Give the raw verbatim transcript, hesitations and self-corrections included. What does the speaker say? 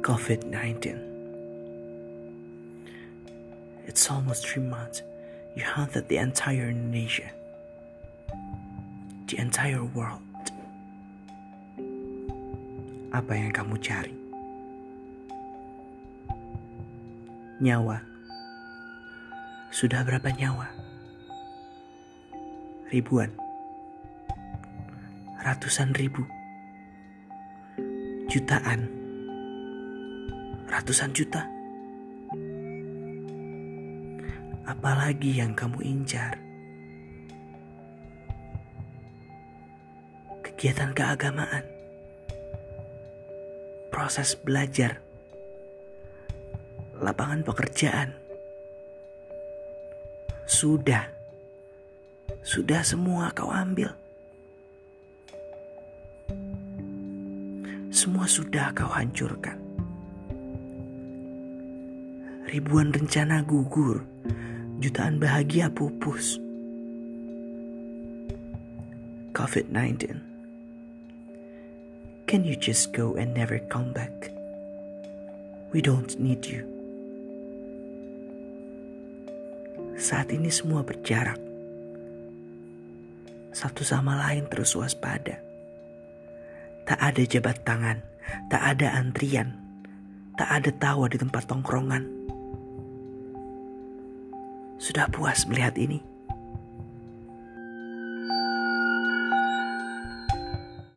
covid nineteen. It's almost three months you haunted the entire Indonesia, the entire world. Apa yang kamu cari? Nyawa. Sudah berapa nyawa? Ribuan. Ratusan ribu. Jutaan. Ratusan juta. Apalagi yang kamu incar? Kegiatan keagamaan, proses belajar, lapangan pekerjaan. Sudah, sudah semua kau ambil. Semua sudah kau hancurkan. Ribuan rencana gugur, jutaan bahagia pupus. covid nineteen. Can you just go and never come back? We don't need you. Saat ini semua berjarak. Satu sama lain terus waspada. Tak ada jabat tangan, tak ada antrian, tak ada tawa di tempat tongkrongan. Sudah puas melihat ini?